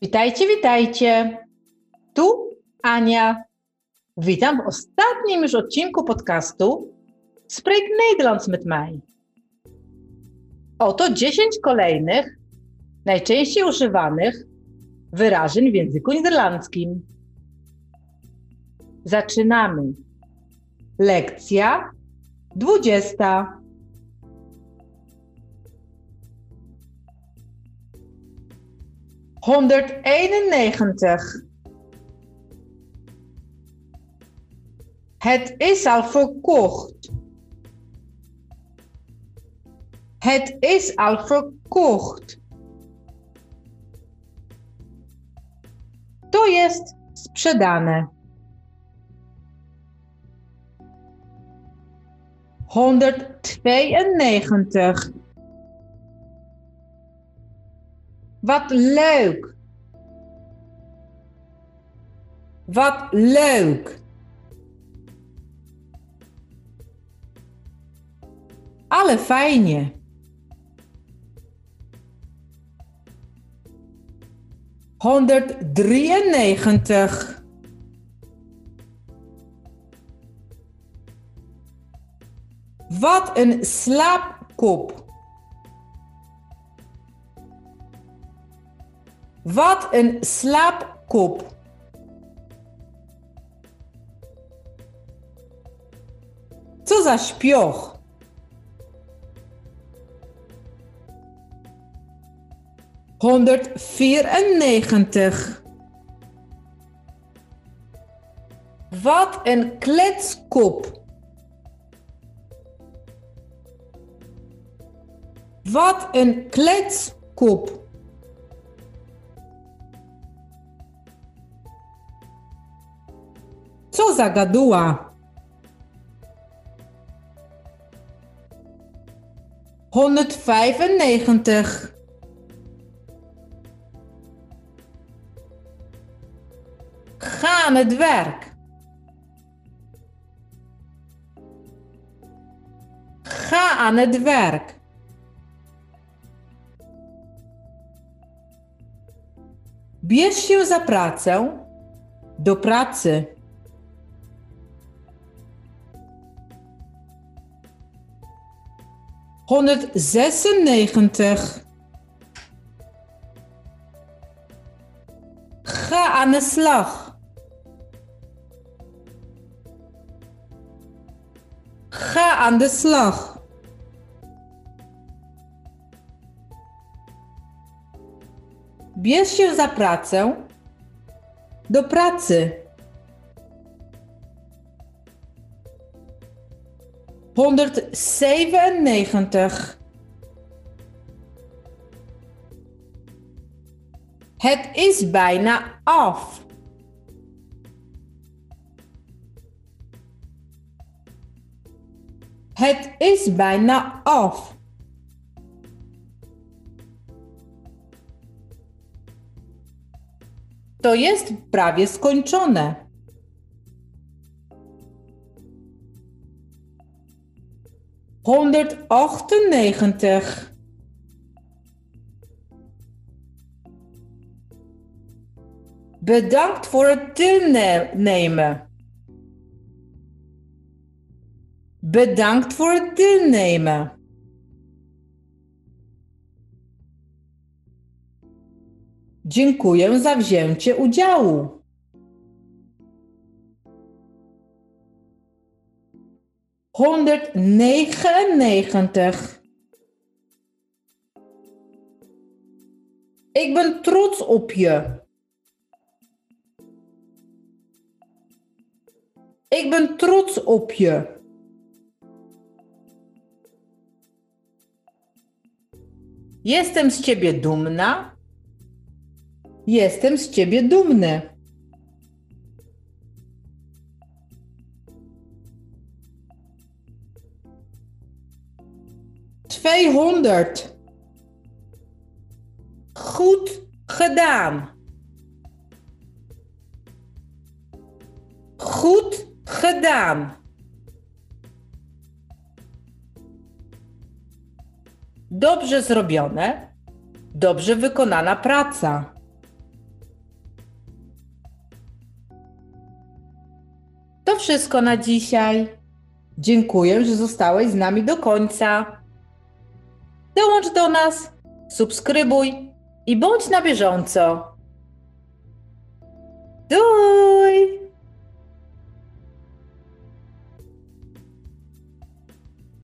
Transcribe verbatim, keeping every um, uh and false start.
Witajcie, witajcie. Tu Ania. Witam w ostatnim już odcinku podcastu Spreek Nederlands met mij. Oto dziesięć kolejnych, najczęściej używanych wyrażeń w języku niderlandzkim. Zaczynamy. Lekcja dwudziesta. honderdeenennegentig. Het is al verkocht. Het is al verkocht. To jest sprzedane. honderdtweeënnegentig. Wat leuk. Wat leuk. Ale fajnie. honderddrieënnegentig. Wat een slaapkop. Wat een slaapkop. Co za śpioch. honderdvierennegentig. Wat een kletskop. Wat een kletskop. Co za gaduła. honderdvijfennegentig. Ga aan het werk. Ga aan het werk. Bierz się za pracę. Do pracy. honderdzesennegentig. Ga aan de slag. Ga aan de slag. Bierz się za pracę. Do pracy. honderdzevenennegentig. Het is bijna af. Het is bijna af. To jest prawie skończone. honderdachtennegentig. Bedankt voor het deelnemen. Bedankt voor het deelnemen. Dziękuję za wzięcie udziału. honderdnegenennegentig. Ik ben trots op je. Ik ben trots op je. Jestem z ciebie dumna. Jestem z ciebie dumny. tweehonderd. Goed gedaan. Goed gedaan. Dobrze zrobione. Dobrze wykonana praca. wszystko na dzisiaj. Dziękuję, że zostałeś z nami do końca. Dołącz do nas, subskrybuj i bądź na bieżąco. Duj!